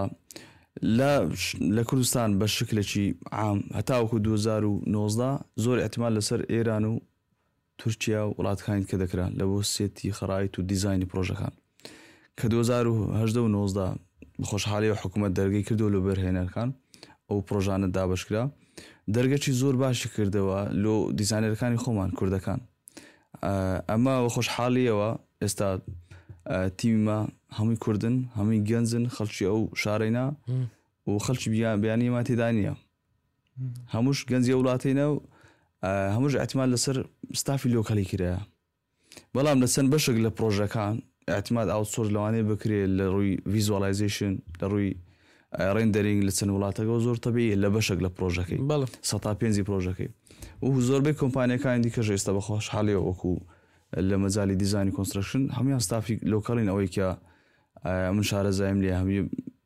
Speaker 4: لە کوردستان بە شکلێکی عام هەتاوەکو 2019 زۆر احتیمال لەسەر ئێران و تورکیا و وڵاتەکانی کە دەکران لە بۆ سێتی خەڕایت و دیزایانی پرۆژەکان کە 2018 و 19 بەخۆشحالی و حکوومەت دەرگەی کردو لە بەرهێنەرەکان ئەو پرۆژانە دابشکرا دەرگەی زۆر باشی کردەوە لۆ دیزایەرەکانی خۆمان کوردەکان ئەمە خۆشحاڵیەوە ئێستا تیممە هەمووی کوردن هەمووی گەنجن خەڵکی ئەو شارەینا و خەڵکی بیانی ما تێدا نییە هەمووش گەنجی وڵاتینە و هەمووش احتیمال لەسەر ستافی لۆکالی کرایە بەڵام لە چەند بەشێک لە پرۆژەکان احتیمال ئاوتسۆرس لەوانەیە بکرێت لە ڕووی ڤیزوالایزیشن لە ڕووی ڕێندەرینگ لە چەند وڵاتەکە زۆر تەبیعیە لە بەشێک لە پرۆژەکەی 105 پرۆژەکەی و زۆربەی کۆمپانیەکانی دیکەش ئێستا بەخۆشحاڵیەوە وەکو لە مەجای دیزاینی کۆنستراکشن هەمویان ستافی لۆکاڵین ئەوەی کە من شارەزایم لێ هەمووی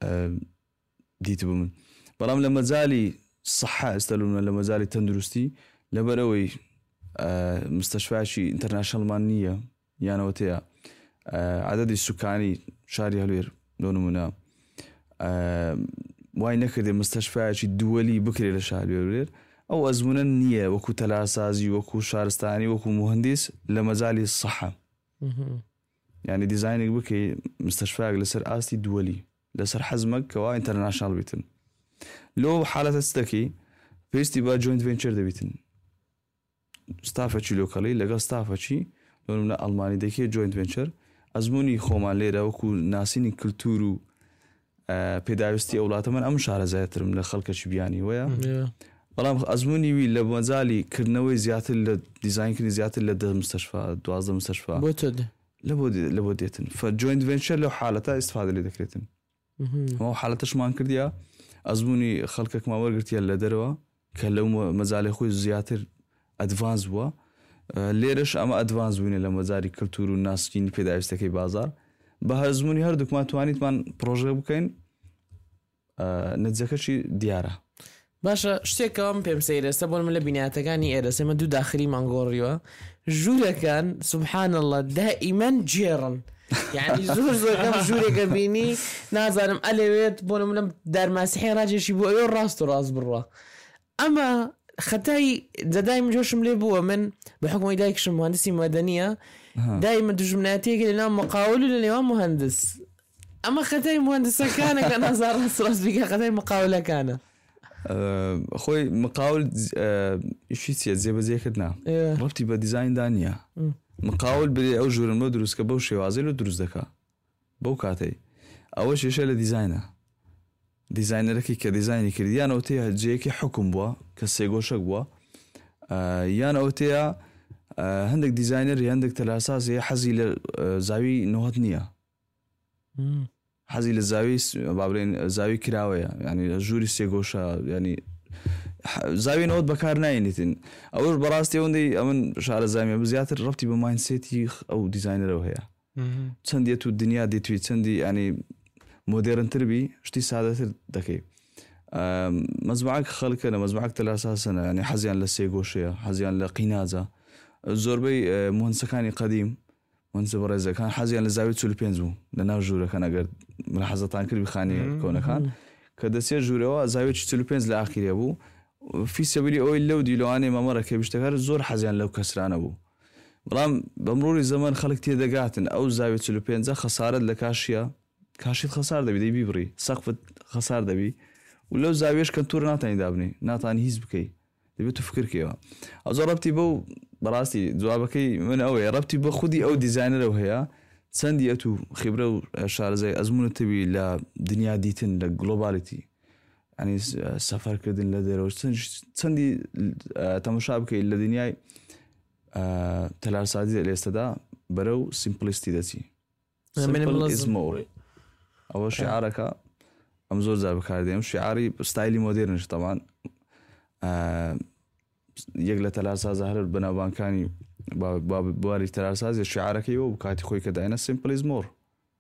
Speaker 4: دیت بوو من بەڵام لە مەجای سەحە ئێستالونە لە مەجای تەندروستی لەبەرەوەی مستەشفایکی ئینتەرناشنەڵمان نییە یانەوە تەیە عەدەدی سوکانی شاری هەلوێر نمونە وای نەکردێ مستەشفایەکی دووەلی بکرێت لە شاری هەلوێر ئەو ئەزمونە نییە وەکو تەلاسازی وەکو شارستانی وەکو مهندس لە مەجای سەحە یعنی دیزاینێک بکەی مستەشفایەک لەسەر ئاستی دووەلی لەسەر حەزمەک کەوا ئینتەرناشناڵ بیتن لۆ حالەتە ستەکەی پێویستی بە جوینت ڤێنچەر دەبیتن ستافەکی لۆکەڵی لەگەڵ ستافەکی لە ئەڵمانی دەکێ جوینت ڤێنچەر ئەزمموی خۆمان لێرە وەکو ناسینی کللتور و پێداویستی ئەوڵاتە من ئەم شارەزایەترم لە خەڵکەکی بیانی وەیە بەڵام ئەزمموی وی لە مەجای کردنەوەی زیاتر لە دیزاینکردنی زیاتر لە 10 مستەشفا 12 مستەشفا لە بۆ دێتن جوینت ڤێنچەر لەو حالەتە ئیسفادە لێ دەکرێتن ئەو حالەتەشمان کردیا ئەزمموی خەڵکێکمان وەرگرتیە لە دەرەوە کە لەو مەجای خۆی زیاتر ئەدڤانس بووە لێرەش ئەمە ئەدڤانس بووینە لە مەجاری کللتور و ناسکینی پێداویستەکەی بازار بە هەزمموی هەردووکمان توانیتمان پرۆژە بکەین نەتیجەکەشی دیارە
Speaker 2: باشە شتێکەوەم پێم سەیرەستە بۆ من لە بینایەتەکانی ئێرەسێمە دوو داخلی مانگۆڕیوە ژوورەکان سبحان الله دائیمەن جێڕن یعنی زۆر ژوورێکە بینی نازانم ئەلەوێت بۆ منم دارماسیحی ڕاجێشی بۆ ئەوێ ڕاست و ڕاست بڕوە ئەمە خەتای دەدایم جۆشم لێ بووە من بە حکومی دایکشم مهندسی مەدەنیە دایمە دوژمناتێکی لە ناو مقاول و لە نێوان مهندس ئەمە خەتای مهندسەکانە کە نازار ڕاست بگە خەتای مقاولەکانە
Speaker 4: خۆی مقاول ئیشی چیە جێبەجێکردنا ڕەبتی بە دیزایندا نییە مقاول برێ ئەو ژوورم بۆ دروستکە بەو شێوازی لە دروست دەکا بەو کاتەی ئەوە شێشە لە دیزاینە دیزاینەرەکی کە دیزایانی کردیان ئەو تەیە جەیەکی حکم بووە کە سێگۆشەک بووە یان ئەو تەیە هەندێک دیزاینەر هەندێک تەلاسازی حەزی لە زاوی نەوەت نییە حەزی لە زاوی بابرێن زاوی کراوەیە ینی ژووری سێگۆشە ینی زاوی نەوەت بەکار ناینیتن ئەوش بەڕاستی ئەوەندەی ئەمن شارە زامیە بزیاتر ڕەبتی بە ماینسێتی ئەو دیزاینەرەوە هەیە چەندێت و دنیا دێتوی چەندی ینی مۆدێرنتر بی شتی سادەتر دەکەی مەزمعک خەڵکە لە مەزمعک تەلاساسەنە ینی حەزیان لە سێگۆشەیە حەزیان لە قیناجە زۆربەی مهندسەکانی قەدیم مهندسە بەڕێزەکان حەزیان لە زاوی 45 بوو لە ناو ژوورەکان ئەگەر ملاحەزەتان کرد بخانی کۆنەکان کە دەچێت ژوورەوە زاویێکی 45 لە ئاخیرێ بوو فی سەبیلی ئەوەی لەو دیلۆوانەی مەمەڕەکە بیشتەکار زۆر حەزیان لەو کەسرانە بوو بەڵام بەمڕۆی زەمان خەڵک تێدەگاتن ئەو زاوی 45 خەسارەت لە کاشیە کاشیت خەسار دەبی دەی بیبڕی سەقفت خەسار دەبی و لەو زاویێش کە توور ناتانی دابنی ناتانی هیچ بکەی دەبێت تو فکرکەوە ئەو زۆر ڕەبتی بەو بەڕاستی جوابەکەی من ئەوەیە ڕەبتی بە خودی ئەو دیزاینەرەوە هەیە چەندی ئەت و خیبرە و شارەزای ئەزمونتەوی لە دنیا دیتن لە گلۆبالیتی ینی سەفەرکردن لە دەرەوە چەندی تەماشا بکەیت لە دنیای تەلارسازی لە ئێستادا بەرەو سیمپلیستی دەچی ئەوە شعارەکە ئەم زۆر جار بەکاردێنم شعاری ستایلی مۆدێرنش تەمان یەک لە تەلارسازە هەر بەناوبانکانی بواری تەلارسازی شعارەکەیەوە کاتی خۆی کە داینە سیمپل is more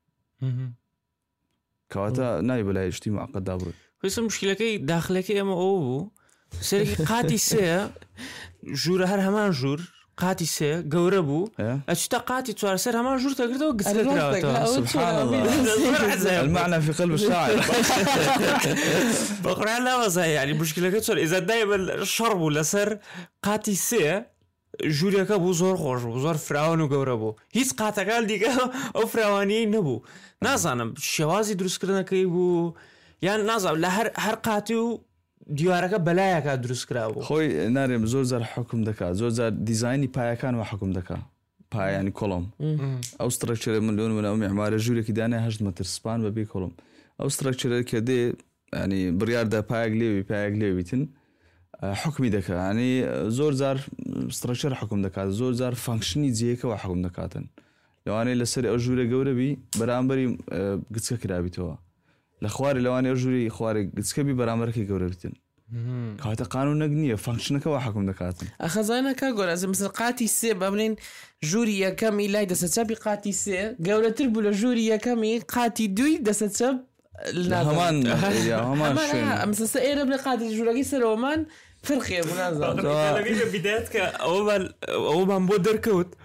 Speaker 4: کەواتە نای بەلای شتی معقەد دابڕێت
Speaker 3: خۆی مشکلەکەی داخلەکەی ئەمە ئەوە بوو سەرێکی قاتی سێ ژوورە هەر هەمان ژوور قاتی سێ گەورە بوو ئەچتا قاتی چوار سەر هەمان ژوور تەگرێتەوە گچکراوەتەوە
Speaker 4: سبحان الله المعنى في قلب الشاعر
Speaker 3: بەقوران ناوەزای ینی مشکلەکە چۆن ئێزە دایمە شەڕ بوو لەسەر قاتی سێ ژوورەکە بوو زۆر خۆش بوو زۆر فراوان و گەورە بوو هیچ قاتەکان دیگە ئەو فراوانیی نەبوو نازانم شێوازی دروستکردنەکەی بوو یان نازانم لە هەر قاتی و دیوارەکە بەلایەکە دروستکرا بوو
Speaker 4: خۆی نارێم زۆر زار حکم دەکات زۆر زار دیزایانی پایەکان و حکم دەکات پایانی کۆڵم ئەو سترەکچەرە من لۆن من ئەو میعمارە ژوورێکی دانای 8 مەتر سپان بەبێ کۆڵم ئەو سترەکچەرە کە دێ ینی بڕیاردا پایەک لێویتن حکمی دەکات ینی زۆر زار سترەکچەر حکم دەکات زۆر زار فانکشنی جێیەکەوە حکم دەکاتن لەوانەیە لەسەر ئەو ژوورە گەورەبی بەرامبەری گچکە کرابیتەوە لە خوارێ لەوانەیە ژووری خوارێک گچکەبی بەرامبەرەکەی گەورە بتن کاتە قانونەک نییە فانکشنەکەەوە حکم دەکاتن
Speaker 2: ئەخەزانەکە گۆرەز مثل قاتی سێ بەبلین ژووری یەکەمی لای دەسە چەپی قاتی سێ گەورەتر بوو لە ژووری یەکەمی قاتی دوی دەسە چەپ
Speaker 4: هەمان
Speaker 2: ئەمسەسە ئێرە بڵێ قاتی ژوورەکەی سەرەوەمان فرقێ بوو نازانم
Speaker 3: بدایەت کە ئەوەمان بۆ دەرکەوت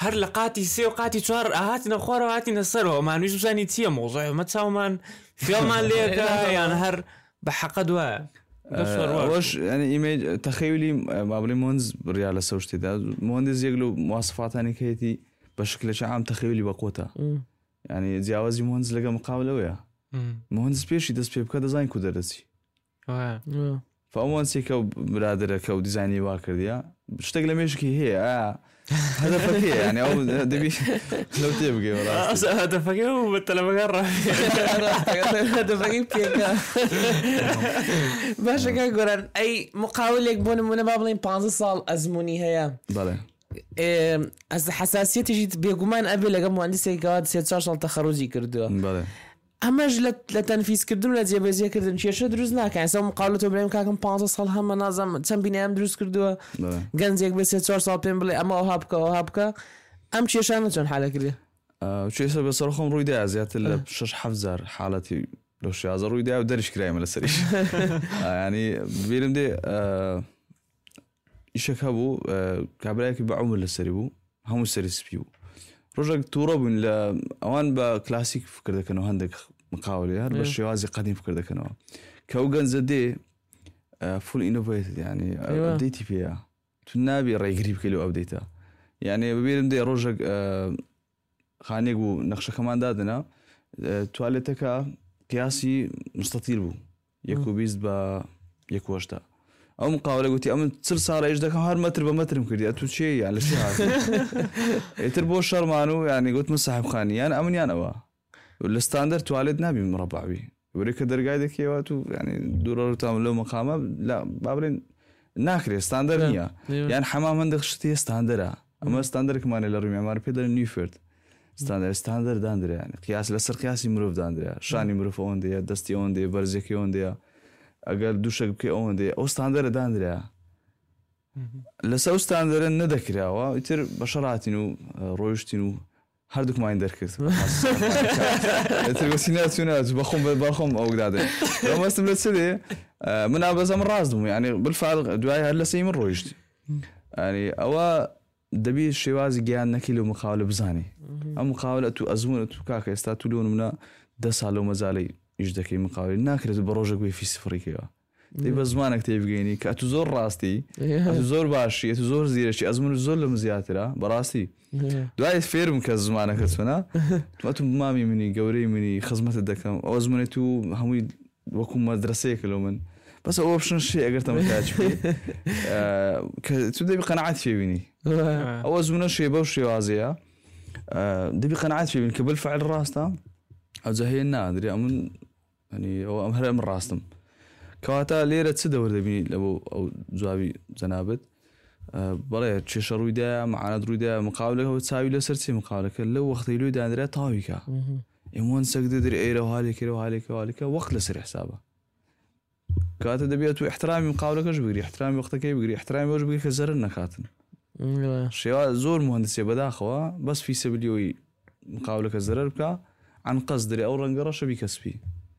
Speaker 3: هەر لە قاتی سێ و قاتی چوار ئاهاتینە خوارەوە هاتینە سەرەوە مانویش بزانی چییە مۆزۆی مە چاومان فێڵمان لێکە یان هەر بە حەقە دوایە
Speaker 4: واش يعني إيميج تخيلي ما بلي مهندس ريال سوشتي ده مهندس يقولوا مواصفات أنا كيتي بشكل عام تخيلي بقوته يعني جوازي مهندس لقى مقابلة وياه مهندس بيشي دس بيبكا ديزاين كودرسي فأمانسي كو برادر كو ديزايني واكر ديا بشتغل مشكي هي هدفك هي يعني أو دبي لو تبقى ولا
Speaker 3: هدفك هو بالتلفزيون
Speaker 2: هدفك كيكا باش كقولن أي مقاولة بون من بابلين 15 سال أزموني هي
Speaker 4: بله
Speaker 2: از حساسية جيت بيقومان قبل لقى مهندسي قاعد 16 سال تخرجي كردوه
Speaker 4: بله
Speaker 2: اما لتنفيذ كردن ولا جيبزيه كردن شي دروز ناك يعني سو مقاولته ابراهيم كاكم 15 سال هم نظام تنبيني ام دروز كردوه غنزيك بس 16 سال بيمبلي اما وهابكا ام شي شانتون حاله كده
Speaker 4: شي سبب صراحه روي دا زيات ال 6 حفزار حالتي لو شي ازر روي دا ودرش كرايم لسريش يعني بيلم دي يشكبوا كابلاك بعمر لسريبو هم سريس بيو رجع تورب لا اوان با كلاسيك فكر ذاك انه عندك مقاولة هذا الشوازي قديم فكر ذاك انه كوغان زدي فول انوفيتد يعني ابديتي فيها تنابي راي قريب كيلو ابديتها يعني ببيرم دي رجع خانيقو نقشه كمان دادنا تواليتك قياسي مستطيل بو يكو بيز با يكو وشتا او مقاوله قلتي ام تصير صار ايش داك هار متر بمتر مكردي اتو شيء يعني شيء هذا تربو شرمانو يعني قلت مسحب خاني انا امن انا وا والستاندرد توالد نبي مربع بي وريك درجايدك يواتو يعني دورو تعملوا مقامه لا بابرين ناكري ستاندرد هي يعني حمام عندك شتي ستاندرد اما ستاندرد كمان اللي معمار بيدل نيوفورد ستاندرد داندر يعني قياس لسر قياسي مروف داندر شاني مروف اون دي دستي اون دي برزكي اون دي اگر دوشك بكي اون دي او ستاندرد داندر لسه ستاندرد نذكرها ويتر بشراتينو رويشتينو هردوك ما يندركت ترغسيناتونات بخم او قداده لما استمرت سدي من ابز من راسهم يعني بالفعل دواي هلا سي من رويشتي يعني او دبي الشوازي جيان نكيلو مقاوله بزاني ام مقاوله تو ازمون تو كاكا استاتولون منا دسالو مزالي يجدكي مقاوله ناكرت بروجك بي في سفريكيا دي بزمانك تيبغيني كاتو زور راستي اتو زور باشي اتو زور زيرشي ازمون زور لمزياترا براستي دواي فيرم كزمانك تسنا تو مامي مني قوري مني خزمه الدكم او ازمونتو همي وكم مدرسه كلومن بس هو اوبشن شيء اقدر تمتاج فيه تبدا بقناعات فيه بيني او ازمنه شيء بوشي وازيا دبي قناعات فيه بيني قبل فعل راستا او زهينا ادري امن يعني هو امهر من راستم كواتا ليره تسدور دبي لو او زوابي زنابت بلا شي شرويدا معنا درويدا مقابله هو تساوي لسرتي مقابله لو وقت يلو داندرا طاويكا يمون سقد دري ايرو هالك وقت لسر حسابه كاتب دبيت واحترامي مقاولك وش بقري احترامي وقتك بقري احترامي وش بقري كزرنا كاتن شيء زور مهندسية بداخوا بس في سبيليوي مقاولك الزرر بكا عن قصدري او رنقرش بكسبي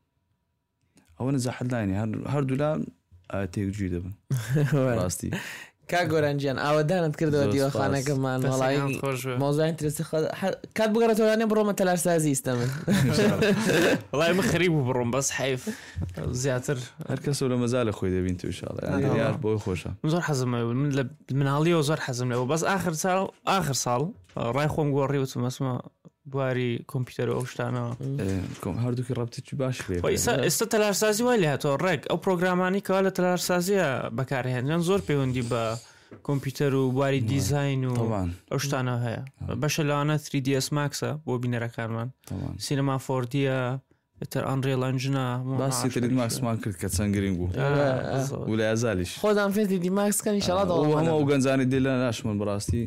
Speaker 4: او انا زحد لايني هردو لا تيك جيدة راستي
Speaker 2: كاغورانجان اودانا تكردو ديو خانه كمان والله موضوع انترست كات بقرا تولاني بروم تلار سازي استمر
Speaker 3: والله مخريب بروم بس حيف زياتر
Speaker 4: هركس ولا مازال اخوي دابي انت ان شاء الله يعني يا بو خوشه
Speaker 3: زور حزم من هاليو زور حزم بس اخر صال راي خوم غوري وتمسما بواري كمبيوتر او شتانا
Speaker 4: هاردوك ربطتي باش فيه
Speaker 3: استتلار سازي ولا هاتو رك او بروغراماني كاله تلار سازي بكاري هن زور بيوندي با كمبيوتر وبواري ديزاين
Speaker 4: طبعا
Speaker 3: او شتانا هيا باش انا 3ds max بو بينرا كارمان
Speaker 4: طبعا
Speaker 3: سينما 4d تر انريل انجنا
Speaker 4: بس 3d max ما كنت كتسانغرينغو ولا ازالش
Speaker 2: خدام في 3d max كان ان شاء الله
Speaker 4: هو ما وغنزاني ديلا اشمل براستي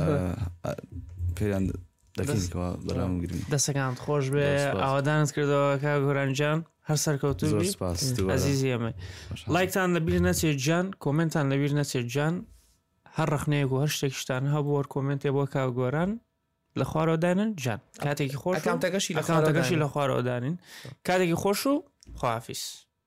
Speaker 4: في دقيقة برنامج قديم
Speaker 3: دستكان خوش به آوادانت کرده که گورانجان هر سرکوتو بی عزیزی امی لایک تان لبیر نتیجه جان کومنت تان لبیر نتیجه جان هر رخنه و هر شتکشتن ها بور کومنت با که گوران لخوارو دانن جان کاتی که خوشو
Speaker 2: اکانتگشی
Speaker 3: لخوارو دانن کاتی که خوشو خداحافظ